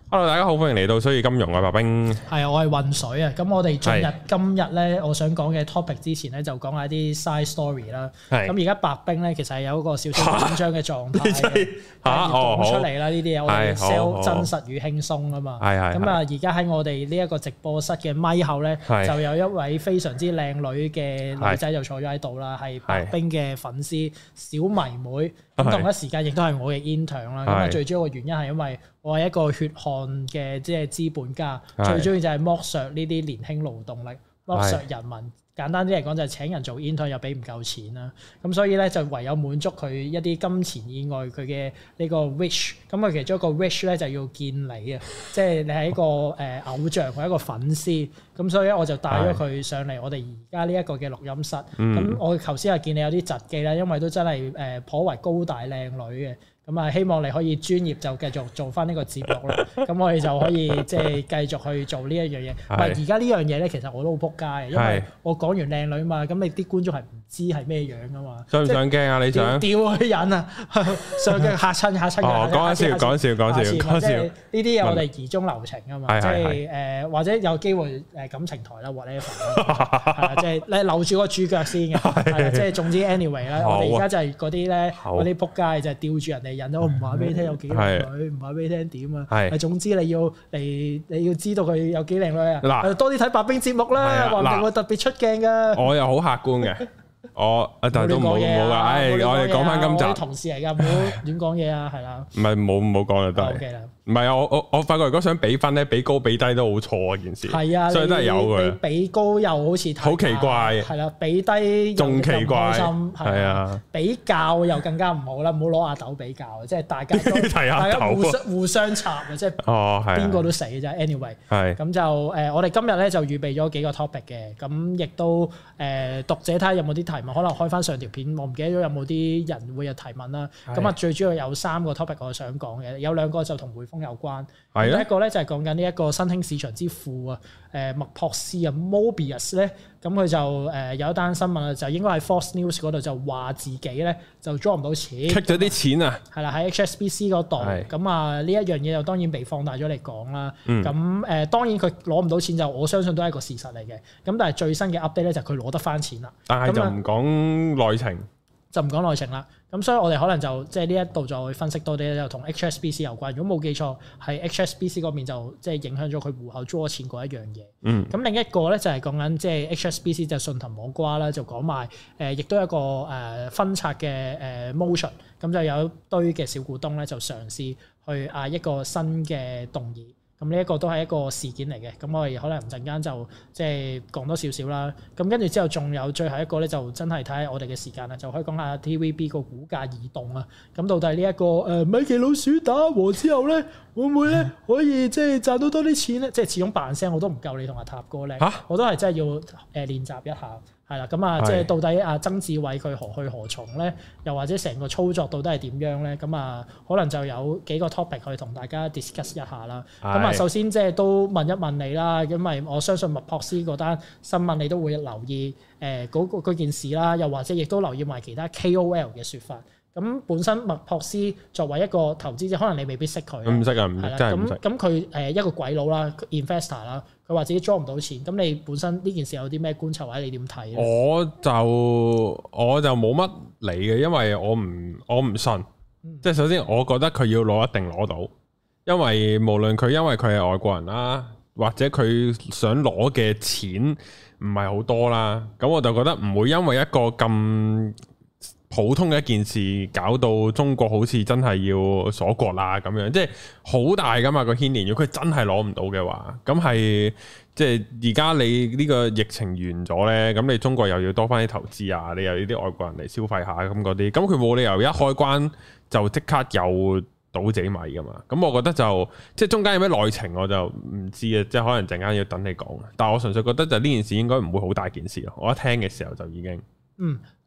Hello， 大家好，歡迎嚟到水與金融啊，白兵。 係啊，我係混水啊。咁我哋進入今日咧，我想講嘅 topic 之前咧，就講下啲 side story 啦。咁而家白兵咧，其實係有一個少少緊張嘅狀態嘅，講出嚟啦。呢啲嘢我哋 sell 真實與輕鬆啊嘛。咁啊，而家喺我哋呢一個直播室嘅咪後咧，就有一位非常之靚女嘅女仔就坐咗喺度啦，係白兵嘅粉絲小迷妹。咁同一時間亦都係我嘅 intern 啦。咁啊，最主要嘅原因係因為我係一個血汗嘅即係資本家，最中意就係剝削呢啲年輕勞動力，剝削人民。簡單啲嚟講就係請人做 intern 又俾唔夠錢啦，咁所以咧就唯有滿足佢一啲金錢以外佢嘅呢個 wish。咁佢其中一個 wish 咧就要見你啊，即係你係一個偶像，佢係一個粉絲。咁所以咧我就帶咗佢上嚟我哋而家呢一個嘅錄音室。咁我頭先係見你有啲窒機啦，因為都真係頗為高大靚女嘅。咁啊，希望你可以專業就繼續做翻呢個節目啦。咁我哋就可以即係繼續去做呢一樣嘢。唔係而家呢樣嘢咧，其實我都好撲街嘅，因為我講完靚女嘛，咁你啲觀眾係唔知係咩樣噶嘛？上唔上鏡啊？你想吊佢人啊？上鏡嚇親㗎！哦，講笑。呢啲嘢我哋疑中留情啊嘛，即係或者有機會感情台啦 whatever 啦，即係你留住個主角先嘅，係啦，即係總之 anyway 啦，我哋而家就係嗰啲咧，嗰啲撲街就係吊住人哋人，我唔話俾你聽有幾靚女，唔話俾你聽點啊，係總之你要知道佢有幾靚女啊，嗱多啲睇白兵節目啦，話唔定會特別出鏡噶，我又好客觀嘅。但係都冇㗎，我哋講翻今集。我啲同事嚟㗎，唔好亂講嘢啊，係啦。唔係冇講就得。OK 啦。唔係啊，我發覺如果想比分咧，比高比低都好錯啊件事。係啊，所以都係有嘅。你比高又好似好奇怪，係啦，比低仲奇怪，係啊，比較又更加唔好啦，唔好攞阿豆比較，即係大家互相插啊，即係邊個都死嘅啫。Anyway， 係咁就我哋今日咧就預備咗幾個 topic 嘅，咁亦都讀者睇下有冇啲提問，可能開翻上條片，我唔記得咗有冇啲人會有提問啦。咁啊，最主要有3個 topic 我想講嘅，有2個就同匯豐有關。第一個咧就係講緊呢一個新興市場之父啊，麥樸斯啊 Mobius 咧，咁佢就有一單新聞啊，就應該喺 Fox News 嗰度就話自己咧就draw唔到錢，cut 咗啲錢啊，係啦，喺 HSBC 嗰度，咁啊呢一樣嘢就當然被放大咗嚟講啦。咁當然佢攞唔到錢就我相信都係一個事實嚟嘅。咁但係最新嘅 update 咧就佢攞得翻錢啦，但係就唔講內情。就唔講內情啦，咁所以我哋可能就即係呢一度再分析多啲，就同 HSBC 有關。如果冇記錯，係 HSBC 嗰邊就即係影響咗佢戶口draw錢嗰一樣嘢。咁另一個咧就係講緊即係 HSBC 就順藤摸瓜啦，就講埋亦都有一個分拆嘅motion，咁就有一堆嘅小股東咧就嘗試去嗌一個新嘅動議。咁呢一個都係一個事件嚟嘅，咁我哋可能陣間就即係講多少少啦。咁跟住之後仲有最後一個咧，就真係睇下我哋嘅時間啦，就可以講下 TVB 個股價移動啊。咁到底呢一個米奇老鼠打和之後咧，會唔會咧可以即係賺到多啲錢咧？即係始終扮聲我都唔夠你同阿塔哥叻，我都係真係要練習一下。係啦，咁啊，即係到底阿曾志偉佢何去何從咧？又或者成個操作到底係點樣咧？咁啊，可能就有幾個 topic 去同大家 discuss 一下啦。咁啊，首先即係都問一問你啦，因為我相信麥樸斯嗰單新聞你都會留意嗰件事啦，又或者亦都留意埋其他 KOL 嘅説法。咁本身麥樸斯作為一個投資者，可能你未必識佢。唔識啊，唔識，真係唔識。咁佢一個鬼佬啦 ，investor 啦，佢話自己 draw 唔到錢。咁你本身呢件事有啲咩觀察或者你點睇？我就冇乜理嘅，因為我唔信。即係首先，我覺得佢要攞一定攞到，因為無論佢因為佢係外國人啦，或者佢想攞嘅錢唔係好多啦，咁我就覺得唔會因為一個咁普通嘅一件事搞到中國好似真係要鎖國啦咁樣，即係好大噶嘛個牽連。如果佢真係攞唔到嘅話，咁係即係而家你呢個疫情完咗呢，咁你中國又要多翻啲投資啊，你又要啲外國人嚟消費下咁嗰啲，咁佢冇理由一開關就即刻有倒自己米噶嘛。咁我覺得就即係中間有咩內情我就唔知啊，即係可能陣間要等你講。但係我純粹覺得就呢件事應該唔會好大件事咯。我一聽嘅時候就已經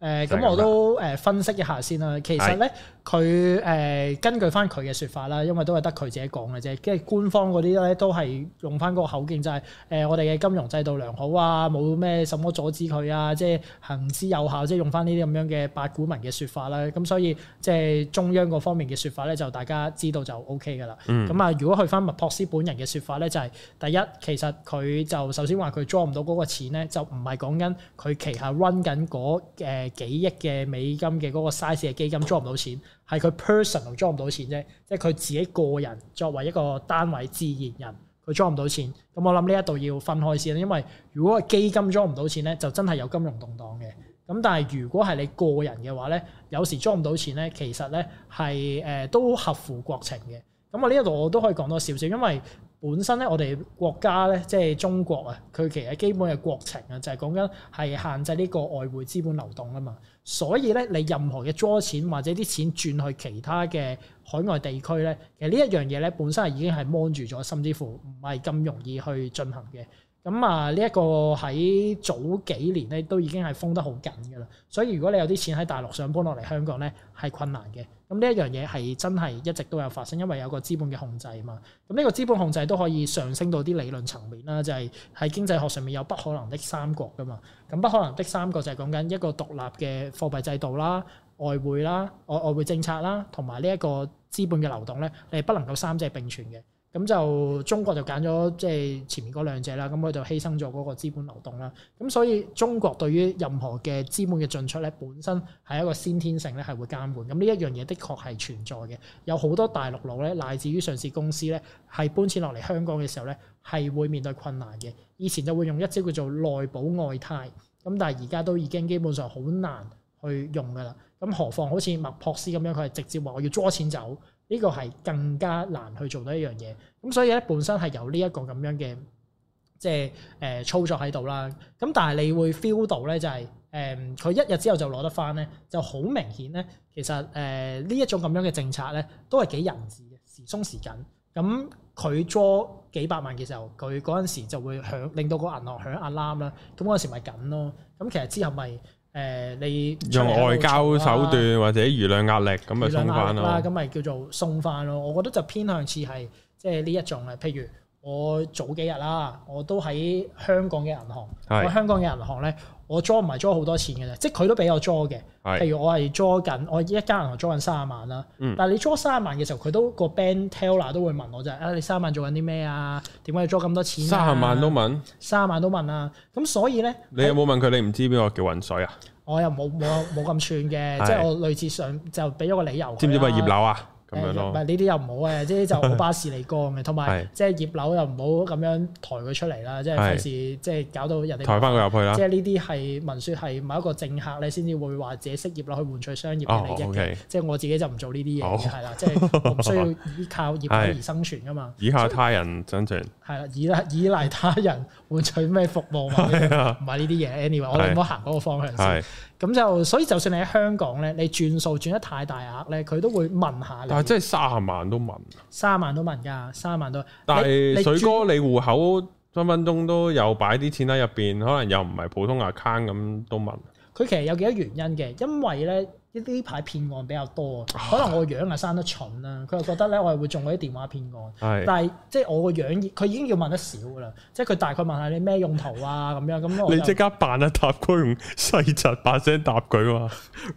咁我都分析一下先啦。其實咧，佢根據翻佢嘅説法啦，因為都係得佢自己講嘅啫。跟住官方嗰啲咧都係用翻嗰個口徑，就係我哋嘅金融制度良好啊，冇咩什麼阻止佢啊，即係行之有效，即係用翻呢啲咁樣嘅八股文嘅説法啦。咁所以即係中央嗰方面嘅説法咧，就大家知道就 OK 噶啦。咁啊，如果去翻麥樸思本人嘅説法咧，就係第一，其實佢就首先話佢draw唔到嗰個錢咧，就唔係講緊佢旗下 run 緊嗰幾億嘅美金嘅嗰個 size 嘅基金 draw 唔到錢，係佢 personal draw 唔到錢啫，即係佢自己個人作為一個單位自然人，佢 draw 唔到錢。咁我諗呢一度要分開先，因為如果個基金 draw 唔到錢咧，就真係有金融動盪嘅。咁但係如果係你個人嘅話咧，有時 draw 唔到錢咧，其實咧係都合乎國情嘅。咁我呢一度我都可以講多少少，因為本身咧，我哋國家咧，即係中國啊，佢其實基本嘅國情啊，就係講緊係限制呢個外匯資本流動啊嘛。所以咧，你任何嘅draw錢或者啲錢轉去其他嘅海外地區咧，其實呢一樣嘢咧，本身係已經係 mon 住咗，甚至乎唔係咁容易去進行嘅。咁啊，呢一個喺早幾年咧都已經係封得好緊㗎啦。所以如果你有啲錢喺大陸想搬落嚟香港咧，係困難嘅。咁呢一樣嘢係真係一直都有發生，因為有個資本嘅控制啊嘛。咁呢個資本控制都可以上升到啲理論層面啦，就係喺經濟學上面有不可能的三角㗎嘛。咁不可能的三角就係講緊一個獨立嘅貨幣制度啦、外匯啦、外匯政策啦，同埋呢一個資本嘅流動咧，你係不能夠三者並存嘅。咁就中國就揀咗即係前面嗰兩隻啦，咁佢就犧牲咗嗰個資本流動啦。咁所以中國對於任何嘅資本嘅進出咧，本身係一個先天性咧係會監管。咁呢一樣嘢的確係存在嘅。有好多大陸佬咧，乃至於上市公司咧，係搬遷落嚟香港嘅時候咧，係會面對困難嘅。以前就會用一招叫做內保外貸，咁但係而家都已經基本上好難去用噶啦。咁何況好似麥樸思咁樣，佢係直接話我要draw錢走。呢個係更加難去做到一樣嘢，咁所以咧本身係有呢一個咁樣嘅即係操作喺度啦。咁但係你會 feel 到咧就係佢一日之後就攞得翻咧，就好明顯咧。其實呢一種咁樣嘅政策咧都係幾人治嘅，時鬆時緊。咁佢 draw 幾百萬嘅時候，佢嗰陣時就會令到個銀行響 alarm 啦。咁嗰陣時咪緊咯。咁其實之後咪。你用外交手段或者輿論壓力咁咪鬆翻咯， 咁咪叫做鬆翻咯。我覺得就偏向似係即係呢一種啊。譬如我早幾日啦，我都喺香港嘅銀行，我香港嘅銀行咧，我 draw 唔係 draw 好多錢嘅啫，即係佢都俾我 draw 嘅。譬如我係 draw 緊，我一間銀行 draw 緊30萬啦。但係你 draw 30萬嘅時候，佢都個 bank teller 都會問我就係你30萬做緊啲咩啊？點解要 draw 咁多錢啊？30萬都問，30萬都問啊！咁所以咧，你有冇問佢？你唔知邊個叫渾水啊？我又冇咁串嘅，即係我類似上就俾咗個理由。知唔知乜葉劉啊？咁樣咯，唔係呢啲又唔好嘅，即係就我巴士嚟講嘅，同埋即係葉劉又唔好咁樣抬佢出嚟啦，即係費事即係搞到人哋抬翻佢入去啦。即係呢啲係聞説係某一個政客咧先至會話自己識葉劉去換取商業嘅利益嘅，即係我自己就唔做呢啲嘢嘅，係啦，即係我唔需要依靠葉劉而生存噶嘛。依靠他人生存係啦，依賴他人換取咩服務嘛？唔係呢啲嘢。Anyway，我哋唔好行嗰個方向先。咁就所以就算你喺香港咧，你轉數轉得太大額咧，佢都會問下你。但係即係30萬都問，30萬都問㗎，30萬都。但係水哥，你戶口分分鐘都有擺啲錢喺入邊，可能又唔係普通 account 咁都問。佢其實有幾多原因嘅，因為咧呢排騙案比較多，可能我樣啊生得蠢啦，佢又覺得咧我係會中嗰啲電話騙案。但係即係我個樣，佢已經要問得少㗎啦，即係佢大概問下你咩用途啊咁樣咁。你即刻扮一答佢，用細窒把聲答佢嘛？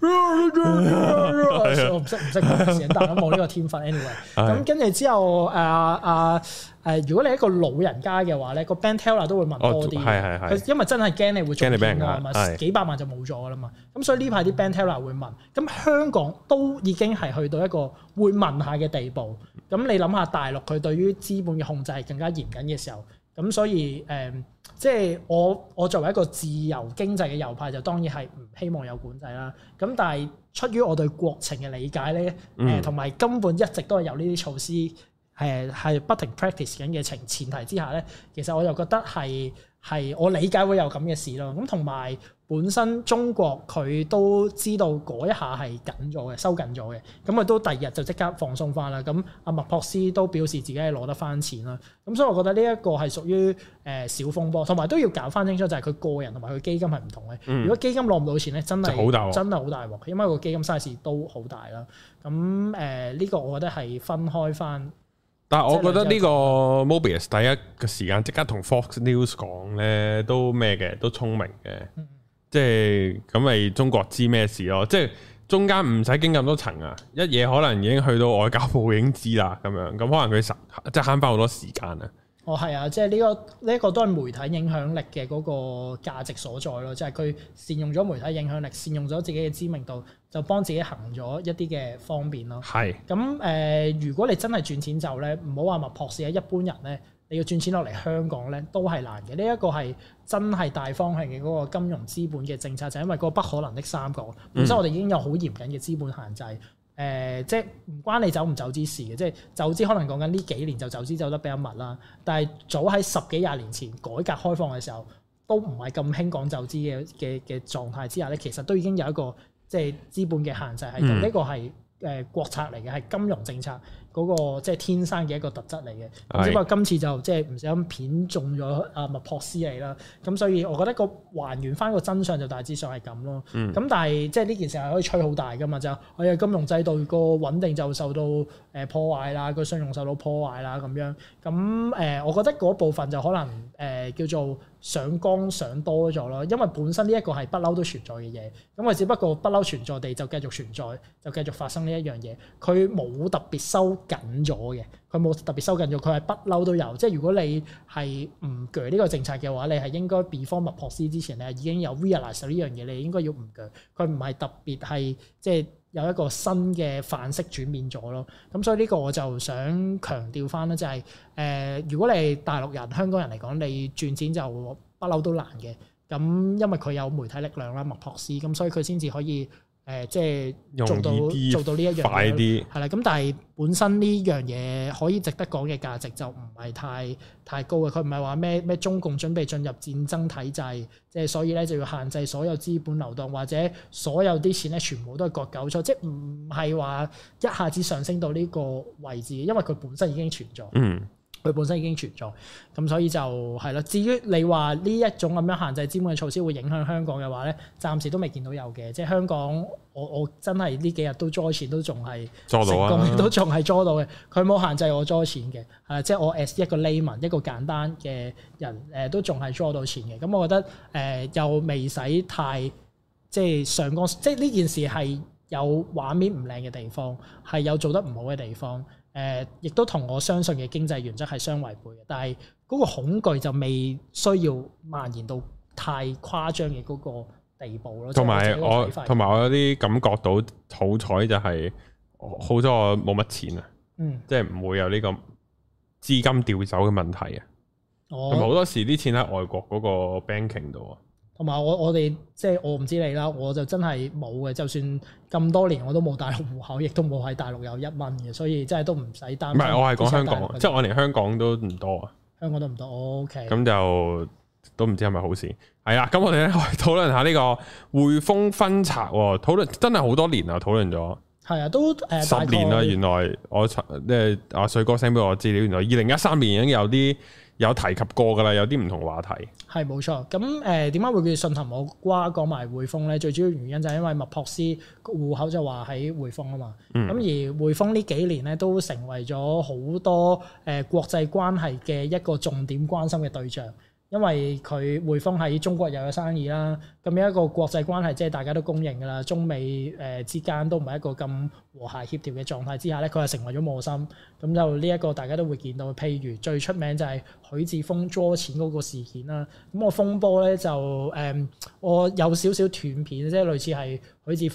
我唔識講聲，但係我冇呢個天分。anyway，咁跟住之後如果你係一個老人家嘅話咧，個 bank teller 都會問多啲，佢因為真係驚你會中騙案嘛，幾百萬就冇咗㗎啦嘛。咁所以呢排啲 bank teller 會問，咁香港都已經係去到一個會問下嘅地步。咁你諗下大陸佢對於資本嘅控制係更加嚴謹嘅時候，咁所以即係我作為一個自由經濟嘅右派，就當然係唔希望有管制啦。咁但係出於我對國情嘅理解咧，同埋根本一直都係有呢啲措施係不停 practice 緊嘅前提之下咧，其實我就覺得係我理解會有咁嘅事咯。咁同埋本身中國佢都知道嗰一下係緊咗嘅，收緊咗嘅，咁佢都第二日就即刻放鬆翻啦。咁阿麥樸斯都表示自己係攞得翻錢啦。咁所以我覺得呢一個係屬於小風波，同埋都要搞翻清楚就係佢個人同埋佢基金係唔同嘅。如果基金攞唔到錢咧，真係好大鑊，因為個基金 size 都好大啦。咁呢個我覺得係分開翻。 但係我覺得呢個 Mobius 第一個時間即刻同 Fox News 講咧，都咩嘅，都聰明嘅。即係咁咪中國知咩事咯？即係中間唔使經咁多層啊，一嘢可能已經去到外交部已經知啦，咁樣咁可能佢即係慳翻好多時間啊。 哦，係啊，即係呢個都係媒體影響力嘅嗰個價值所在咯，即係佢善用咗媒體影響力，善用咗自己嘅知名度，就幫自己行咗一啲嘅方便咯。係。咁如果你真係轉錢就咧，唔好話麥樸斯啊，一般人咧，你要轉錢落嚟香港咧，都係難嘅。呢一個係真係大方向嘅嗰個金融資本嘅政策，就係因為嗰個不可能的三角，本身我哋已經有好嚴謹嘅資本限制。即係唔關你走唔走資事嘅，即係走資可能講緊呢幾年就走資走得比較密啦。但係早喺10幾20年前改革開放嘅時候，都唔係咁興講走資嘅狀態之下咧，其實都已經有一個即係資本嘅限制喺度。呢個係國策嚟嘅，係金融政策嗰個即係天生嘅一個特質嚟嘅。只不過今次就即係唔小心片中咗阿麥樸斯嚟啦。咁所以我覺得個還原翻個真相就大致上係咁咯。咁但係即係呢件事係可以吹好大噶嘛？就係金融制度個穩定就受到破壞啦，個信用受到破壞啦咁樣。咁我覺得嗰部分就可能叫做上綱上多咗咯。因為本身呢一個係不嬲都存在嘅嘢，咁佢只不過不嬲存在地就繼續存在，就繼續發生呢一樣嘢。佢冇特別收緊咗嘅，佢冇特別收緊咗，佢係不嬲都有。即係如果你係唔鋸呢個政策嘅話，你係應該 before 麥樸斯之前，你係已經有 realize 呢樣嘢，你應該要唔鋸。佢唔係特別係即係有一個新嘅範式轉變咗咯。咁所以呢個我就想強調翻咧，就係如果你係大陸人、香港人嚟講，你轉錢就不嬲都難嘅。咁因為佢有媒體力量啦，麥樸斯，咁所以佢先至可以。即係做到呢一樣嘢，快啲係啦。咁但係本身呢樣嘢可以值得講嘅價值就唔係太高嘅。佢唔係話咩中共準備進入戰爭體制，即係所以咧就要限制所有資本流動，或者所有啲錢咧全部都係割韭菜，即係唔係話一下子上升到呢個位置，因為佢本身已經存在。佢本身已經存在，咁所以就係啦。至於你話呢一種咁樣限制資本嘅措施會影響香港嘅話咧，暫時都未見到有嘅。即係香港，我真係呢幾日都捉錢都仲係成功，都仲係捉到嘅。佢冇限制我捉錢嘅，係即係我 as 一個 layman 一個簡單嘅人，都仲係捉到錢嘅。咁我覺得又未使太即係上綱，即係呢件事係有畫面唔靚嘅地方，係有做得唔好嘅地方。亦都同我相信嘅經濟原則係相違背嘅，但係嗰個恐懼就未需要蔓延到太誇張嘅嗰個地步咯。同埋我有啲感覺到好彩就係好彩我冇乜錢啊，即係唔會有呢個資金調走嘅問題啊。同埋好多時啲錢喺外國嗰個 banking 度啊。同埋我哋即係我唔知你啦，我就真係冇嘅。就算咁多年我都冇大陸戶口，亦都冇喺大陸有1蚊嘅，所以真係都唔使擔心。唔係，我係講香港，即係我連香港都唔多啊。香港都唔多，OK。咁就都唔知係咪好事。係啦，咁我哋咧討論下呢個匯豐分拆喎，討論真係好多年啦，討論咗。係啊，都10年啦。原來我即係阿水哥 send 俾我資料，原來2013年已經有提及過㗎啦，有啲唔同話題。係冇錯，咁點解會叫順藤摸瓜講埋匯豐咧？最主要原因就係因為麥樸斯戶口就話喺匯豐啊嘛。咁而匯豐呢幾年咧都成為咗好多國際關係嘅一個重點關心嘅對象。因為佢匯豐喺中國又有生意啦，咁有一個國際關係即係大家都公認㗎啦，中美之間都唔係一個咁和諧協調嘅狀態之下咧，佢係成為咗磨心。咁就呢一個大家都會見到，譬如最出名就係許智峰捉錢嗰個事件啦。咁個風波咧就我有少少斷片，即係類似係許智峰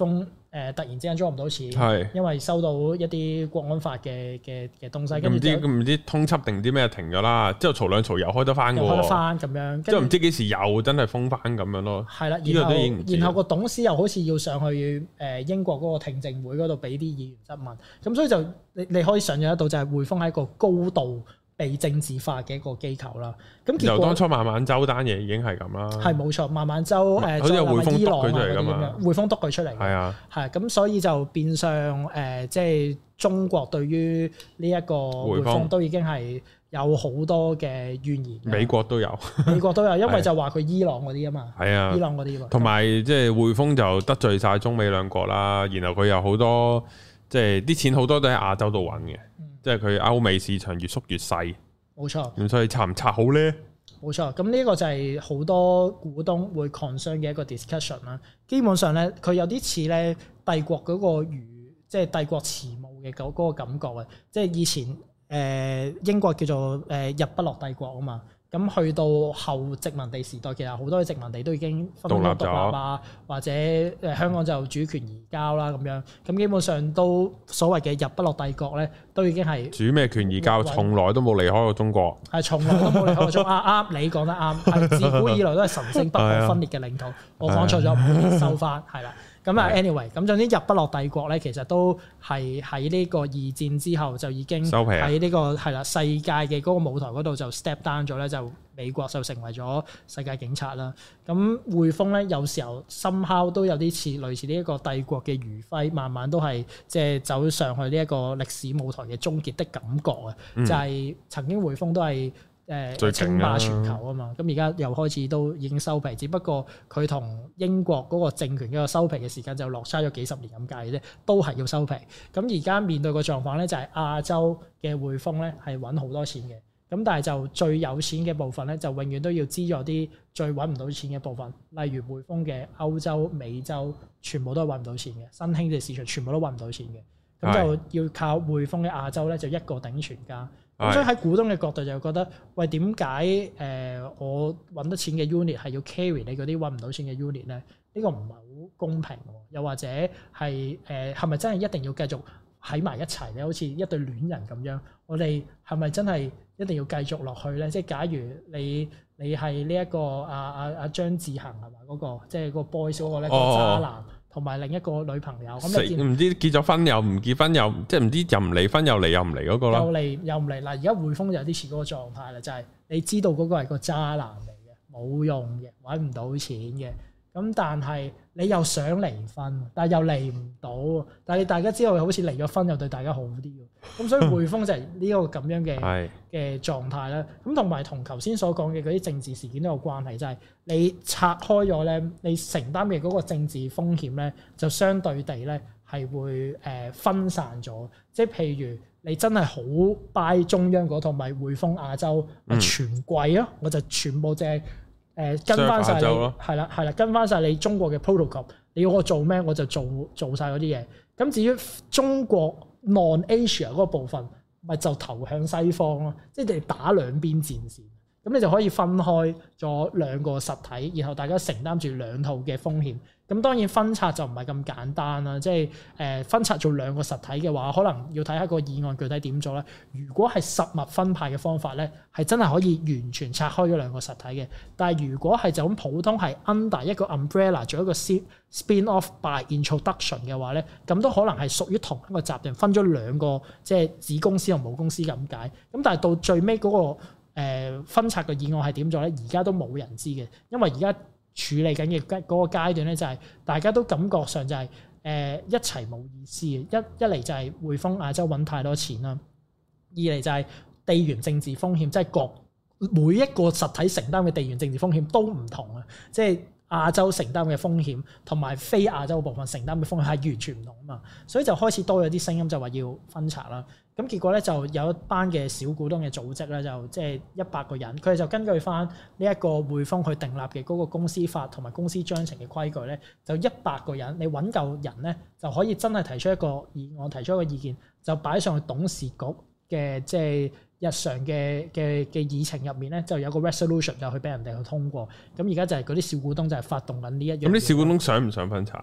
突然之間租唔到錢， 係因為收到一啲國安法嘅東西，跟住唔知通緝定啲咩停咗啦，之後嘈兩嘈又開得翻嘅喎， 開得翻咁樣， 之後唔知幾時又真係封翻咁樣咯。係啦， 然後個董事又好似要上去英國嗰個聽證會嗰度俾啲議員質問，咁所以就你可以想象得到就係匯豐係一個高度被政治化嘅一個機構啦，咁結果由當初孟晚舟單嘢已經係咁啦， 係冇錯，孟晚舟好似有匯豐督佢出嚟㗎嘛， 匯豐督佢出嚟，係啊，係咁，所以就變相即係中國對於呢一個匯豐都已經係有好多嘅怨言， 美國都有， 因為就話佢伊朗嗰啲啊嘛，係啊，伊朗嗰啲， 同埋即係匯豐就得罪晒中美兩國啦，然後佢有好多即係啲錢好多都喺亞洲度揾嘅。即係佢歐美市場越縮越細，冇錯。咁所以拆唔拆好咧？ 冇錯。咁呢個就係好多股東會 concern 嘅一個 discussion 啦。基本上咧，佢有啲似咧帝國嗰個即係帝國遲暮嘅嗰個感覺啊。即係以前英國叫做日不落帝國啊嘛。咁去到後殖民地時代，其實好多嘅殖民地都已經分獨立啊，或者香港就主權移交啦咁樣。咁基本上都所謂嘅日不落帝國咧，都已經係主咩權移交，從來都冇離開過中國。 係從來都冇離開過中國。啱，你講得啱。係自古以來都係神聖不可分裂嘅領土。我講錯咗，唔好收翻。係啦。咁啊，anyway，咁總之日不落帝國咧，其實都係喺呢個二戰之後就已經喺呢個係啦世界嘅嗰個舞台嗰度就 step down 咗咧，就美國就成為咗世界警察啦。咁匯豐咧有時候somehow都有啲似類似呢一個帝國嘅餘暉，慢慢都係即係走上去呢一個歷史舞台嘅終結的感覺啊！就係曾經匯豐都係稱霸全球啊嘛，咁而家又開始都已經收皮，只不過佢同英國嗰個政權嘅收皮嘅時間就落差咗幾十年咁解嘅啫，都係要收皮。咁而家面對個狀況咧，就係亞洲嘅匯豐咧係揾好多錢嘅，咁但係就最有錢嘅部分咧，就永遠都要資助啲最揾唔到錢嘅部分，例如匯豐嘅歐洲、美洲，全部都係揾唔到錢嘅，新興嘅市場全部都揾唔到錢嘅，咁就要靠匯豐嘅亞洲咧，就一個頂全家。咁所以喺股東嘅角度就覺得，喂，點解我揾得錢嘅 unit 係要 carry 你嗰啲揾唔到錢嘅 unit 咧？呢個唔係好公平喎。又或者係係咪真係一定要繼續喺埋一齊咧？好似一對戀人咁樣，我哋係咪真係一定要繼續落去咧？即係假如你係呢一個阿張志恒係嘛嗰個，即係個 boys 嗰個咧個渣男。同埋另一個女朋友，咁你唔知結咗婚又唔結婚又即係唔知又唔離婚又離又唔離嗰個啦， 又離又唔離嗱。而家匯豐就有啲似嗰個狀態啦，就係你知道嗰個係個渣男嚟嘅，冇用嘅，揾唔到錢嘅。咁但係你又想離婚，但係又離唔到。但係大家知道好似離咗婚又對大家好啲喎。咁所以匯豐就係呢個咁樣嘅狀態啦。咁同埋同頭先所講嘅嗰啲政治事件都有關係，就係你拆開咗咧，你承擔嘅嗰個政治風險咧，就相對地咧係會分散咗。即係譬如你真係好 buy 中央嗰套，咪匯豐亞洲咪全貴咯，我就全部即係。跟翻晒你係啦，跟翻晒你中國嘅 protocol， 你要我做咩我就做晒嗰啲嘢。咁至於中國 non-Asia 嗰個部分，咪就投向西方咯，即係你打兩邊戰線。咁你就可以分開咗兩個實體，然後大家承擔住兩套嘅風險。咁當然分拆就唔係咁簡單啦，即係分拆做兩個實體嘅話，可能要睇下個議案具體點做咧。如果係實物分派嘅方法咧，係真係可以完全拆開咗兩個實體嘅。但係如果係就咁普通係 under 一個 umbrella 做一個 spin off by introduction 嘅話咧，咁都可能係屬於同一個集團分咗兩個即係子公司同母公司咁解。咁但係到最尾嗰個分拆嘅議案係點做咧？而家都冇人知嘅，因為而家處理緊嘅嗰個階段咧，就係大家都感覺上就係一齊冇意思嘅。一嚟就係匯豐亞洲揾太多錢啦，二嚟就係地緣政治風險，即係每一個實體承擔嘅地緣政治風險都唔同啊！即係亞洲承擔嘅風險同埋非亞洲部分承擔嘅風險係完全唔同啊嘛，所以就開始多咗啲聲音就話要分拆啦。咁結果咧就有一班嘅小股東嘅組織咧，就即係100個人，佢哋就根據翻呢一個匯豐去訂立嘅嗰個公司法同埋公司章程嘅規矩咧，就100個人，你揾夠人咧就可以真係提出一個議案，提出一個意見，就擺上去董事局嘅即係日常嘅議程入面咧，就有個 resolution 就去俾人哋去通過。咁而家就係嗰啲小股東就係發動緊呢一樣。 咁啲小股東想唔想分拆？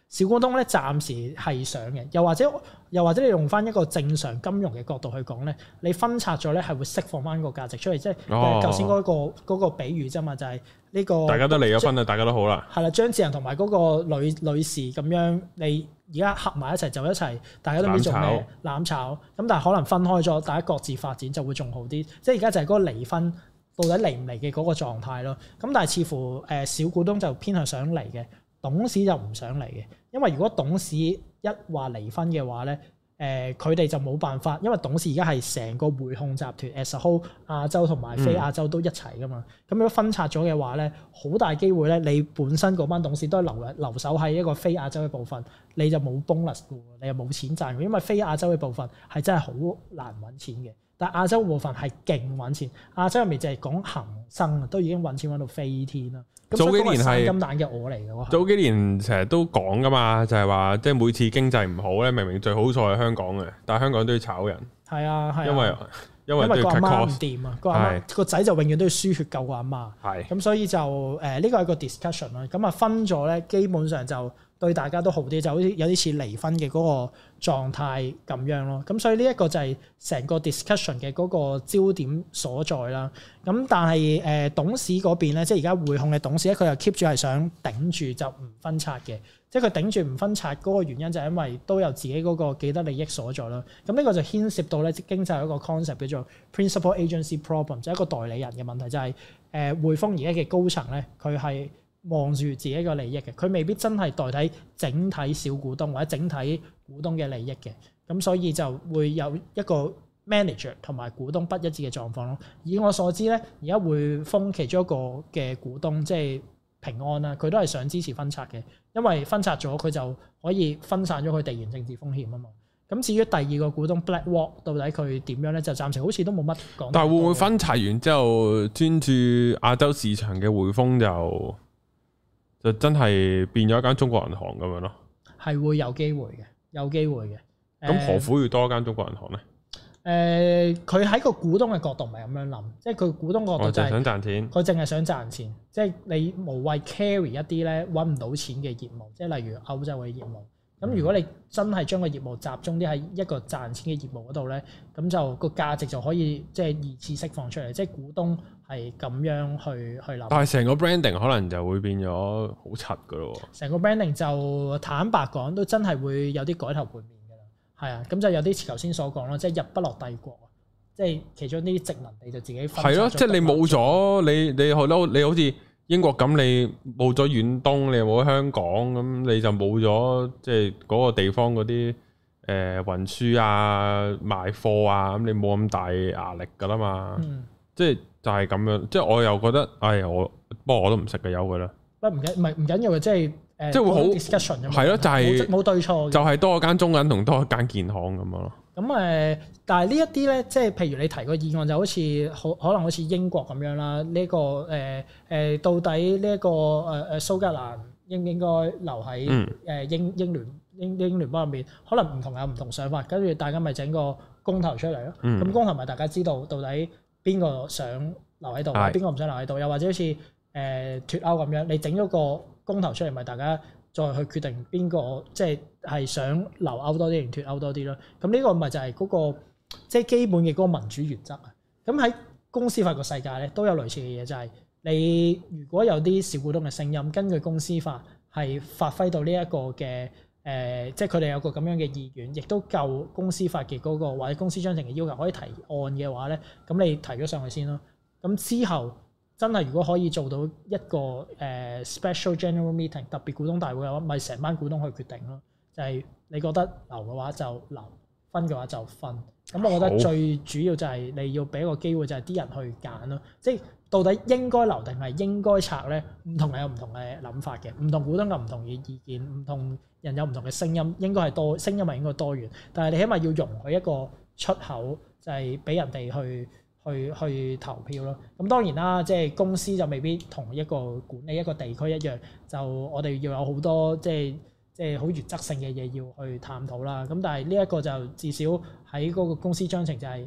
小股東咧暫時係上嘅，又或者你用翻一個正常金融嘅角度去講咧，你分拆咗咧係會釋放翻個價值出嚟，即係頭先嗰個比喻啫嘛，就係呢個大家都離咗婚啦，大家都好啦。係啦， 張智霖同埋嗰個女士咁樣，你而家合埋一齊就一齊，大家都唔知做咩攬炒，咁但係可能分開咗，大家各自發展就會仲好啲。即係而家就係嗰個離婚到底離唔離嘅嗰個狀態咯。咁但係似乎小股東就偏向想離嘅，董事就唔想離嘅，因為如果董事一話離婚嘅話咧，佢哋就冇辦法，因為董事而家係成個匯控集團 as a whole 亞洲同埋非亞洲都一齊噶嘛，咁如果分拆咗嘅話咧，好大機會咧，你本身嗰班董事都係留守喺一個非亞洲嘅部分，你就冇 bonus 嘅喎，你又冇錢賺嘅，因為非亞洲嘅部分係真係好難揾錢嘅。但係亞洲部分係勁揾錢，亞洲入面就係講恒生都已經揾錢揾到飛天啦。 早幾年係金蛋嘅鵝嚟嘅喎。 早幾年成日都講噶嘛，就係話即係每次經濟唔好咧，明明最好在係香港嘅，但係香港都要炒人。係啊，係啊。因為個阿媽唔掂啊，個阿媽個仔就永遠都要輸血救個阿媽。係。咁所以就呢個係個 discussion 啦。咁啊分咗咧，基本上就對大家都好啲，就好似有啲似離婚嘅嗰個狀態咁樣咯。咁所以呢一個就係成個 discussion 嘅嗰個焦點所在啦。咁但係董事嗰邊咧，即係而家匯控嘅董事咧，佢又 keep 住係想頂住就唔分拆嘅。即係佢頂住唔分拆嗰個原因就係因為都有自己嗰個既得利益所在啦。咁呢個就牽涉到咧經濟有一個 concept 叫做 principal agency problem，就係一個代理人嘅問題，就係匯豐而家嘅高層咧，佢係望住自己嘅利益嘅，佢未必真係代替整體小股東或者整體股東嘅利益嘅。咁所以就會有一個 manager 同埋股東不一致嘅狀況咯。以我所知咧，而家匯豐其中一個嘅股東即係平安啦，佢都係想支持分拆嘅，因為分拆咗佢就可以分散咗佢地緣政治風險啊嘛。咁至於第二個股東 BlackRock 到底佢點樣咧？就暫時好似都冇乜講。但係會唔會分拆完之後專注亞洲市場嘅匯豐就真係變咗一間中國銀行咁樣咯？係會有機會嘅，有機會嘅。 咁何苦要多一間中國銀行咧？ 佢喺個股東嘅角度唔係咁樣諗，即係佢股東角度就係想賺錢， 佢淨係想賺錢，即係你無謂 carry 一啲咧揾唔到錢嘅業務，即係例如歐洲嘅業務。咁如果你真係將個業務集中啲喺一個賺錢嘅業務嗰度咧，咁就個價值就可以即係二次釋放出嚟，即係股東係咁樣去諗。 但係成個 branding 可能就會變咗好柒噶咯。 成個 branding 就坦白講都真係會有啲改頭換面㗎啦。係啊，咁就有啲似頭先所講咯，即係日不落帝國啊，即係其中啲殖民地就自己分。係咯， 即係你冇咗你好似英國咁，你冇咗遠東，你又冇咗香港，咁你就冇咗即係嗰個地方嗰啲運輸啊、賣貨啊，咁你冇咁大壓力噶啦嘛。即係就係咁樣，即係我又覺得，不過我都唔識嘅，由佢啦。唔緊要嘅，即係即係會好 discussion 咁。係咯，就係冇對錯， 就係多一間中銀同多一間建行咁樣咯。 咁但係呢一啲咧，即係譬如你提個議案就好似可能好似英國咁樣啦。呢個到底呢一個蘇格蘭應唔應該留喺英聯邦入面？可能唔同有唔同想法，跟住大家咪整個公投出嚟咯。咁公投咪大家知道到底邊個想留喺度，邊個唔想留喺度？又或者好似脫歐咁樣，你整咗個公投出嚟，咪大家再去決定邊個即係想留歐多啲定脫歐多啲咯。咁呢個咪就係嗰個即係基本嘅嗰個民主原則啊。咁喺公司法個世界咧都有類似嘅嘢，就係你如果有啲小股東嘅聲音，根據公司法係發揮到呢一個嘅即係佢哋有個咁樣嘅意願，亦都夠公司法嘅嗰個或者公司章程嘅要求可以提案嘅話咧，咁你提咗上去先咯。咁之後真係如果可以做到一個special general meeting 特別股東大會嘅話，咪成班股東去決定咯。就係你覺得留嘅話就留，分嘅話就分。咁我覺得最主要就係你要俾一個機會，就係啲人去揀咯。即係到底應該留定係應該拆咧？唔同人有唔同嘅諗法嘅，唔同股東有唔同嘅意見，唔同人有唔同嘅聲音，應該係多聲音係應該多元。但係你起碼要容許一個出口，就係俾人哋去投票咯。咁當然啦，即係公司就未必同一個管理一個地區一樣，就我哋要有好多即係好原則性嘅嘢要去探討啦。咁但係呢一個就至少喺嗰個公司章程就係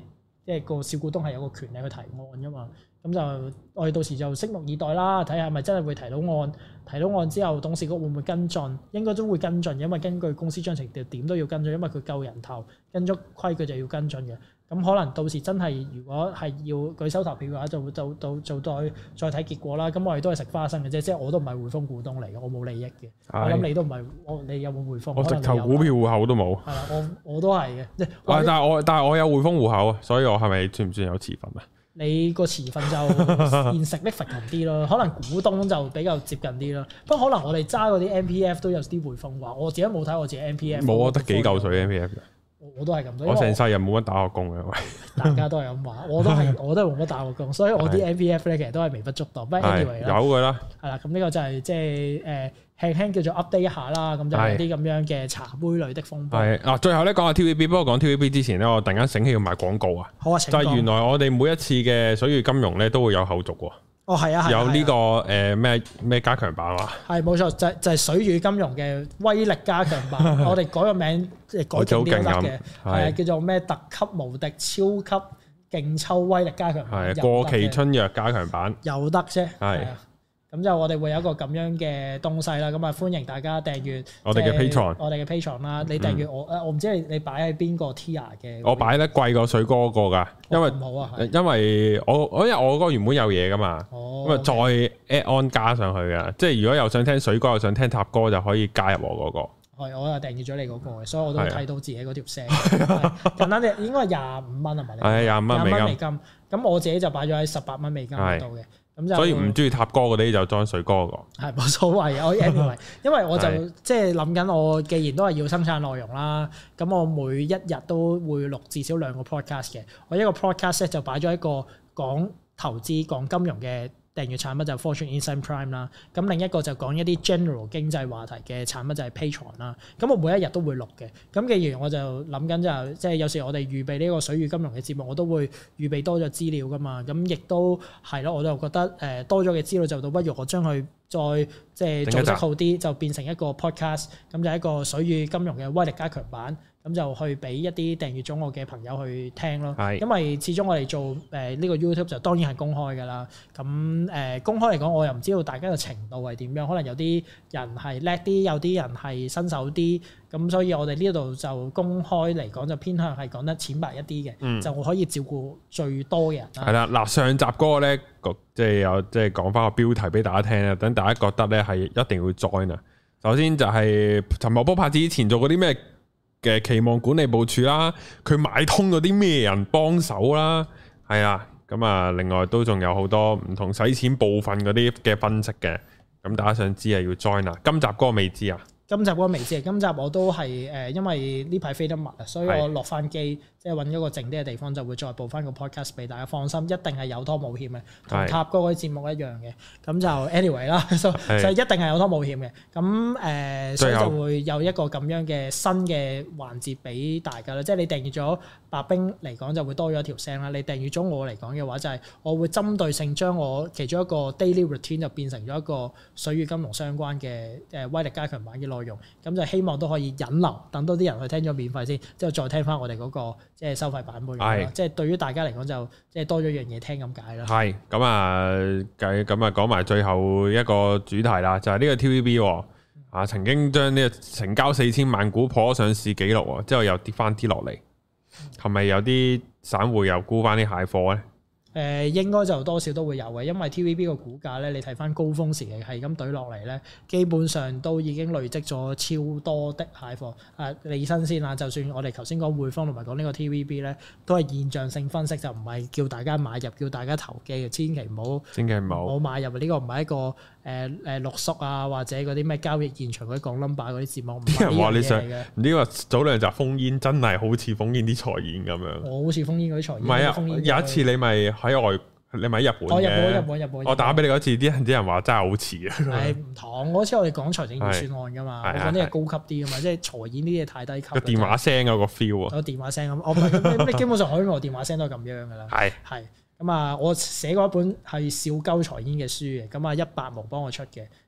即係個小股東係有個權利去提案噶嘛。咁就我哋到時就拭目以待啦，睇下係咪真係會提到案。提到案之後，董事局會唔會跟進？應該都會跟進，因為根據公司章程點都要跟進，因為佢夠人頭，跟足規矩就要跟進嘅。咁可能到時真係如果係要舉手投票嘅話，就再睇結果啦。咁我哋都係食花生嘅啫，即係我都唔係匯豐股東嚟嘅，我冇利益嘅。我諗你都唔係，你有冇匯豐？ 我直頭股票戶口都冇。係啦，我都係嘅。 但係我有匯豐戶口啊，所以我係咪算唔算有持份啊？ 你個持份就現實力強啲咯，可能股東就比較接近啲咯。不過可能我哋揸嗰啲 MPF 都有啲匯豐話，我自己冇睇我自己 MPF。冇啊，得幾嚿水 MPF 嘅。 我都係咁多。 我成世人冇乜打過工嘅，喂。 大家都係咁話，我都係冇乜打過工，所以我啲 MPF 咧其實都係微不足道。不過 anyway 啦， 有㗎啦。係啦，咁呢個就係即係輕輕叫做 update 一下啦，咁就有啲咁樣嘅茶杯類的風波。係嗱，最後咧講下 TVB，不過講 TVB 之前咧，我突然間醒起要賣廣告啊。好啊，就係原來我哋每一次嘅水與金融咧都會有後續喎。哦，係啊，有呢個咩加強版啊？係冇錯，就係水與金融嘅威力加強版。我哋改個名，改勁啲都得嘅，係叫做咩特級無敵超級勁抽威力加強版。係過期春藥加強版，有得啫。係。咁就我哋會有一個咁樣嘅東西啦，咁啊歡迎大家訂閱我哋嘅 Patreon 啦。你訂閱我唔知你擺喺邊個 tier 嘅？我擺得貴過水哥嗰個㗎，因為因為我嗰個原本有嘢㗎嘛，咁啊再 add on 加上去㗎，即係如果又想聽水哥又想聽塔哥就可以加入我嗰個。係，我又訂閱咗你嗰個嘅，所以我都睇到自己嗰條聲。簡單啲，應該係25蚊係咪？係25蚊美金。咁我自己就擺咗喺18蚊美金嗰度嘅。咁就所以唔中意塔哥嗰啲就裝水哥個，係冇所謂。我 anyway，因為我就即係諗緊，我既然都係要生產內容啦，咁我每一日都會錄至少2個 podcast 嘅。我一個 podcast 咧就擺咗一個講投資、講金融嘅訂閱產品就 Fortune Insight Prime 啦，咁另一個就講一啲 general 經濟話題嘅產品就係 Patreon 啦。咁我每一日都會錄嘅。咁既然我就諗緊就即係有時我哋預備呢個水與金融嘅節目，我都會預備多咗資料噶嘛。咁亦都係咯，我就覺得多咗嘅資料就倒不如我將佢再即係組織好啲，就變成一個 podcast，咁就係一個水與金融嘅威力加強版。咁就去俾一啲訂閱咗我嘅朋友去聽咯，因為始終我哋做呢個 YouTube 就當然係公開㗎啦。咁公開嚟講，我又唔知道大家嘅程度係點樣，可能有啲人係叻啲，有啲人係新手啲。咁所以我哋呢度就公開嚟講就偏向係講得淺白一啲嘅，就可以照顧最多嘅人啦。係啦，嗱上集嗰個咧，即係講翻個標題俾大家聽啊，等大家覺得咧係一定要 join 啊。首先就係陳茂波拍之前做過啲咩嘅期望管理部署啦，佢買通咗啲咩人幫手啦，係啊，咁啊，另外都仲有好多唔同使錢部分嗰啲嘅分析嘅，咁大家想知啊要 join 啊，今集嗰個未知啊。今集嗰個未知，今集我都係因為呢排飛得密啊，所以我落翻機，即係揾咗個靜啲嘅地方，就會再報翻個 podcast 俾大家放心，一定係有拖冇險嘅，同塔哥嗰啲節目一樣嘅。咁就 anyway 啦，所以一定係有拖冇險嘅。咁所以就會有一個咁樣嘅新嘅環節俾大家啦。即係你訂閱咗白兵嚟講，就會多咗一條聲啦。你訂閱咗我嚟講嘅話，就係我會針對性將我其中一個 daily routine 就變成咗一個水與金融相關嘅威力加強版嘅內容。咁就希望都可以引流，等多啲人去聽咗免費先，之後再聽翻我哋嗰個即係收費版本咯。即係對於大家嚟講就即係多咗樣嘢聽咁解啦。係咁啊，咁啊講埋最後一個主題啦，就係呢個 TVB 啊，曾經將呢個成交4000萬股破上市紀錄，之後又跌翻啲落嚟，係咪有啲散戶又沽翻啲蟹貨咧？應該就多少都會有嘅，因為 TVB 個股價咧，你睇翻高峰時期係咁懟落嚟咧，基本上都已經累積咗超多的蟹貨。理新鮮啊，就算我哋頭先講匯豐同埋講呢個 TVB 咧，都係現象性分析，就唔係叫大家買入，叫大家投機嘅，千祈唔好買入。呢個唔係一個六叔啊，或者嗰啲咩交易現場嗰啲講 number 嗰啲節目，唔係呢樣嘢嚟嘅。唔知話早兩集烽煙真係好似烽煙啲財演咁樣。我好似烽煙嗰啲財演。唔係啊，有一次你咪你咪喺日本嘅。日本。我打俾你嗰次，啲人話真係好似啊。係唔同嗰次我哋講財政預算案㗎嘛，我講啲係高級啲㗎嘛，即係財演呢啲嘢太低級。個電話聲有個 feel 啊。個電話聲咁，咁你基本上海外電話聲都係咁樣㗎啦。係。咁啊，我寫過一本係笑鳩財演嘅書嘅，咁啊100毛幫我出嘅，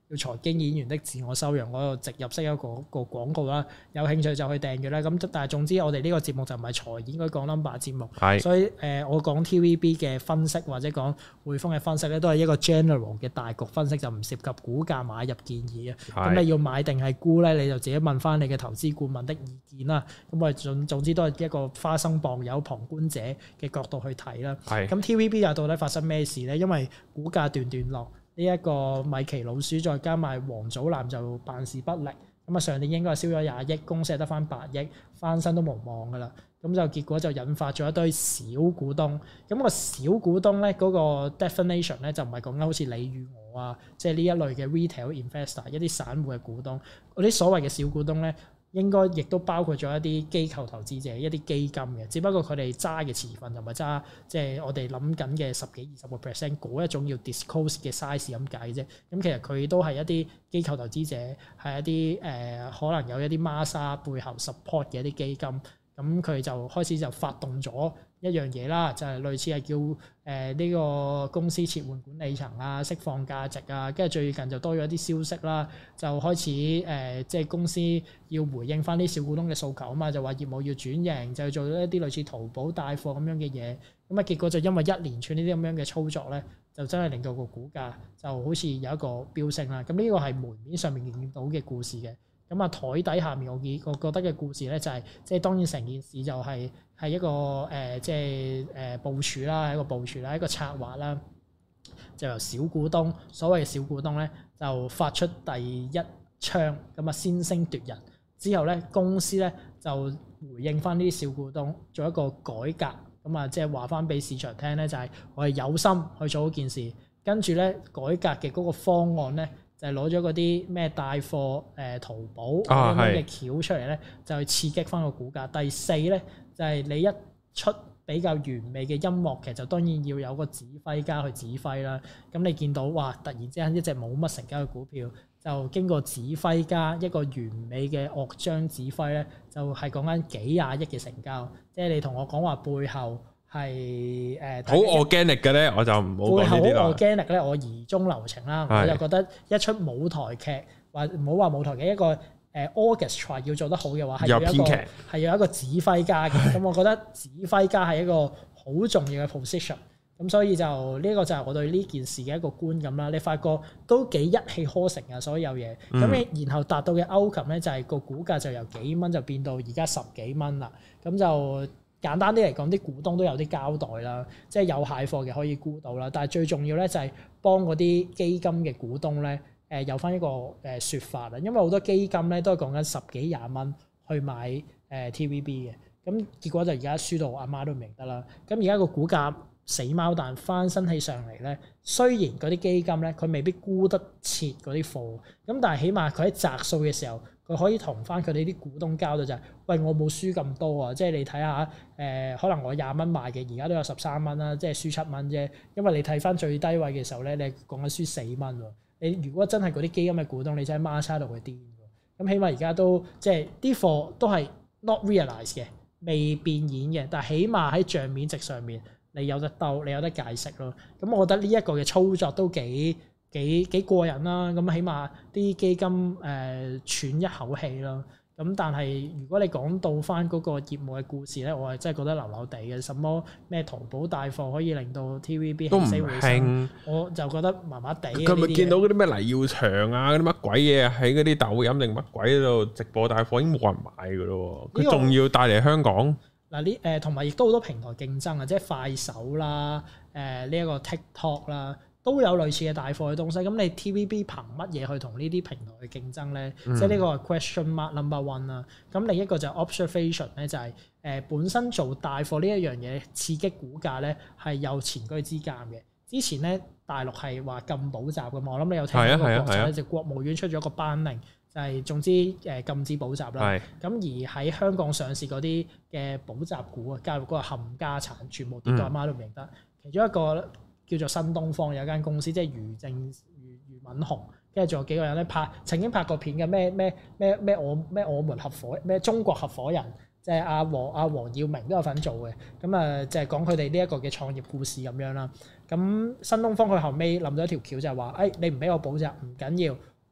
叫財經演員的自我修養嗰個植入式一個廣告啦。有興趣就去訂閱啦。咁但係總之我哋呢個節目就唔係財演嗰講 number 節目，所以我講 TVB 嘅分析或者講匯豐嘅分析咧，都係一個 general 嘅大局分析，就唔涉及股價買入建議啊。咁你要買定係沽咧，你就自己問翻你嘅投資顧問的意見啦。咁我哋總之都係一個花生磅有旁觀者嘅角度去睇啦。咁 TVB 又到底發生咩事咧？因為股價段段落，呢一個米奇老鼠再加埋王祖藍就辦事不力。咁啊上年應該係燒咗20億，公司係得翻8億，翻身都無望噶啦。咁就結果就引發咗一堆小股東。咁個小股東咧嗰個 definition 咧就唔係講緊好似你與我啊，即係呢一類嘅 retail investor， 一啲散戶嘅股東。嗰啲所謂嘅小股東咧，應該亦都包括咗一啲機構投資者、一啲基金嘅，只不過佢哋揸嘅持份就唔係揸即係我哋諗緊嘅10幾20% 嗰一種要 disclose 嘅 size 咁解啫。咁其實佢都係一啲機構投資者，係一啲可能有一啲孖沙背後 support 嘅一啲基金。咁佢就開始就發動咗一樣嘢啦，就係類似係叫呢個公司撤換管理層啊、釋放價值啊，跟住最近就多咗一啲消息啦，就開始即係公司要回應翻啲小股東嘅訴求啊嘛，就話業務要轉型，就做咗一啲類似淘寶帶貨咁樣嘅嘢，咁啊結果就因為一連串呢啲咁樣嘅操作咧，就真係令到個股價就好似有一個飆升啦。咁呢個係門面上面見到嘅故事嘅。咁啊，台底下面我覺得嘅故事咧就係，即係當然成件事就係一個即係部署啦，一個部署啦，一個策劃啦，就由小股東，所謂嘅小股東咧就發出第一槍，咁啊先聲奪人，之後咧公司咧就回應翻呢啲小股東，做一個改革，咁啊即係話翻俾市場聽咧，就係我係有心去做嗰件事，跟住咧改革嘅嗰個方案咧。就係攞咗嗰啲咩帶貨淘寶咁樣嘅橋出嚟咧，就去刺激翻個股價。第四咧就係你一出比較完美嘅音樂劇，就當然要有個指揮家去指揮啦。咁你見到哇，突然之間一隻冇乜成交嘅股票，就經過指揮家一個完美嘅樂章指揮咧，就係講緊幾廿億嘅成交。即係你同我講話背後。係好 organic 嘅咧，我就唔好講呢啲啦。 好 organic 咧，我疑中留情啦。我就覺得一出舞台劇，或唔好話舞台劇，一個orchestra 要做得好嘅話，係要有一個指揮家嘅。咁我覺得指揮家係一個好重要嘅 position。咁所以就呢個就係我對呢件事嘅一個觀感啦。你發覺都幾一氣呵成啊，所有嘢。咁然後達到嘅 outcome 咧，就係個股價就由幾蚊就變到而家10幾蚊啦。咁就簡單啲嚟講，啲股東都有啲交代啦，即係有蟹貨嘅可以沽到啦。但係最重要咧就係幫嗰啲基金嘅股東咧，有翻一個説法啦。因為好多基金咧都係講緊10幾20蚊去買TVB 嘅，咁結果就而家輸到阿媽都唔認得啦。咁而家個股價死貓彈翻身起上嚟咧，雖然嗰啲基金咧佢未必沽得切嗰啲貨，咁但係起碼佢喺擲數嘅時候，佢可以同翻佢哋啲股東交代就係，喂，我冇輸咁多啊！即係你睇下可能我20蚊賣嘅，而家都有13蚊啦，即係輸7蚊啫。因為你睇翻最低位嘅時候咧，你講緊輸4蚊喎。你如果真係嗰啲基金嘅股東，你真係孖叉到佢癲喎。咁起碼而家都即係啲貨都係 not realize 嘅，未變現嘅，但係起碼喺帳面值上面。你有得鬥，你有得解釋咯。咁我覺得呢一個嘅操作都幾過癮啦。咁起碼啲基金喘一口氣咯。咁但係如果你講到翻嗰個業務嘅故事咧，我係真係覺得流流地嘅。什麼咩淘寶帶貨可以令到 TVB 起死回生，我就覺得麻麻地。 佢咪見到嗰啲咩黎耀祥啊，嗰啲乜鬼嘢喺嗰啲抖音定乜鬼度直播帶貨已經冇人買㗎咯。佢仲要帶嚟香港。 嗱同埋亦都好多平台競爭啊，即係快手啦，呢一個 TikTok 啦，都有類似嘅帶貨嘅東西。咁你 TVB 憑乜嘢去同呢啲平台去競爭咧？即係呢個係 question mark number one 啦。咁另一個就係 observation 咧，就係本身做帶貨呢一樣嘢刺激股價咧係有前車之鑑嘅。之前咧大陸係話禁補習嘅嘛，我諗你有聽過個國策咧，就國務院出咗個班令。就係總之禁止補習啦，咁而喺香港上市嗰啲嘅補習股啊，加入嗰個冚家產，全部跌到阿媽都唔認得。其中一個叫做新東方有間公司，即係余敏雄，跟住仲有幾個人咧曾經拍過片嘅咩我們合夥咩中國合夥人，即係阿黃耀明都有份做嘅。咁啊，就係講佢哋呢一個嘅創業故事咁樣啦。咁新東方佢後尾諗咗一條橋就係話，你唔俾我補習唔緊要。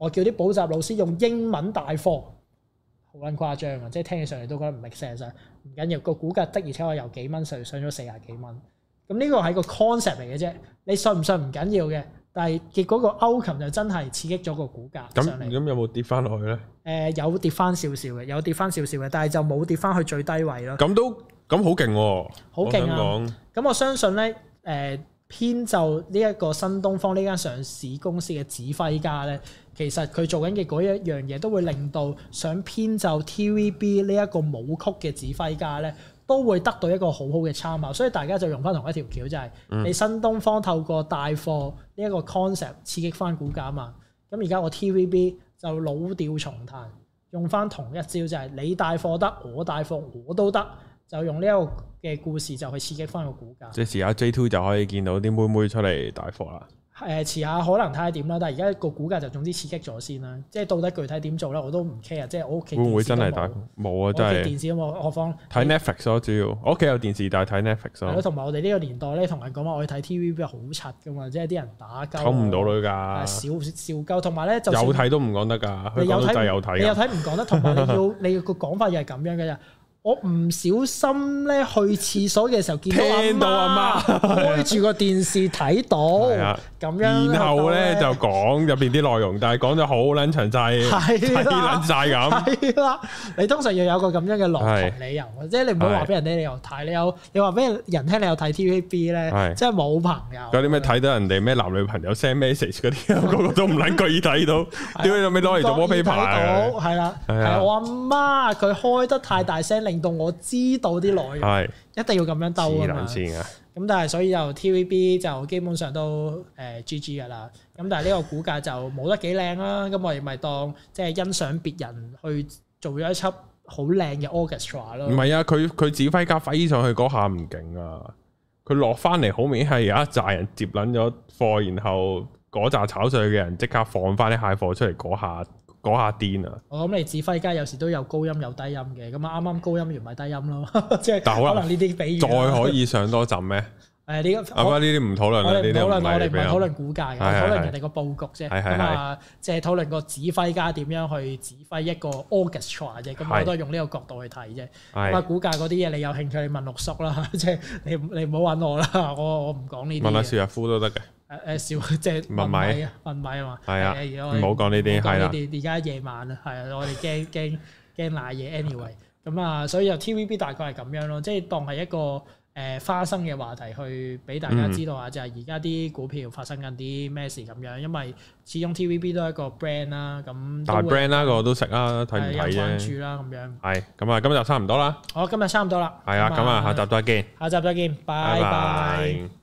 我叫啲補習老師用英文帶課，好撚誇張啊！即係聽起上嚟都覺得唔 make sense 啊。唔緊要，個股價的而且確由幾蚊上咗40幾蚊。咁呢個係個 concept 嚟嘅啫，你信唔信唔緊要嘅。但係結果個 outcome 就真係刺激咗個股價上嚟。咁有冇跌翻落去咧？ 有跌翻少少嘅，有跌翻少少嘅，但係就冇跌翻去最低位咯。 咁好勁喎！ 好勁啊！咁我相信咧，編就呢一個新東方呢間上市公司嘅指揮家咧，其實佢做緊嘅嗰一樣嘢，都會令到想編就 TVB 呢一個舞曲嘅指揮家咧，都會得到一個好好嘅參考。所以大家就用翻同一條橋，就係你新東方透過帶貨呢一個 concept 刺激翻股價嘛。咁而家我 TVB 就老調重彈，用翻同一招，就係你帶貨得，我帶貨我都得。就用呢一個嘅故事就去刺激翻個股價。即係遲下 J2 就可以見到啲妹妹出嚟帶貨啦。 遲下可能睇下點啦，但係而家個股價就總之刺激咗先啦。即係到底具體點做咧，我都唔 care。即係我屋企會唔會真係帶貨？冇啊，真係。電視都冇，何況睇 Netflix 咯，主要我屋企有電視，但係睇 Netflix 咯。係咯， 同埋我哋呢個年代咧，同人講話我去睇 TVB 好柒噶嘛，即係啲人打交。 溝唔到女㗎。笑鳩，同埋咧就有睇都唔講得㗎。你有睇， 你有睇唔講得，同埋你個講法又係咁樣嘅啫。我唔小心咧去廁所嘅時候見到阿媽開住個電視睇到，咁樣， 然後咧就講入邊啲內容，但係講咗好撚詳細，睇撚晒咁。係啦，你通常要有個咁樣嘅邏輯理由，即係你唔好話俾人聽你又睇，你話俾人聽你又睇 TVB 咧，即係冇朋友。嗰啲咩睇到人哋咩男女朋友 send message 嗰啲，個個都唔撚覺意睇到，點解攞嚟做 wallpaper？係啦，係我阿媽佢開得太大聲，令到我知道啲內容，一定要咁樣兜啊嘛。咁但係所以就 TVB 就基本上都GG 噶啦。咁但係呢個股價就冇得幾靚啦。咁我哋咪當即係欣賞別人去做咗一輯好靚嘅 orchestra 咯。唔係啊，佢指揮家飛上去嗰下唔勁啊，佢落翻嚟好明顯係有一紮人接撚咗貨，然後嗰紮炒上去嘅人即刻放翻啲蟹貨出嚟嗰下癲啊！我諗你指揮家有時都有高音有低音嘅，咁啊啱啱高音完咪低音咯，即係可能呢啲比喻再可以上多陣咩？呢啲唔討論啦，我哋唔係討論股價嘅，討論人哋個佈局啫。咁啊，即係討論個指揮家點樣去指揮一個 orchestra 啫。咁我都係用呢個角度去睇啫。咁啊，股價嗰啲嘢你有興趣你問六叔啦，即係你唔好揾我啦，我唔講呢啲。問下邵逸夫都得嘅。少即係問米啊嘛。係啊，唔好講呢啲係啦。而家夜晚啊，係啊，我哋驚賴嘢 anyway。咁啊，所以就 TVB 大概係咁樣咯，即係當係一個花生嘅話題去俾大家知道下，就係而家啲股票發生緊啲咩事咁樣，因為始終 TVB 都係一個 brand 啦，咁大 brand 啦，個個都食啦，睇唔睇啫？有關注啦，咁樣。係，咁啊，今日差唔多啦。好，今日差唔多啦。係啊，咁啊，下集再見。下集再見，拜拜。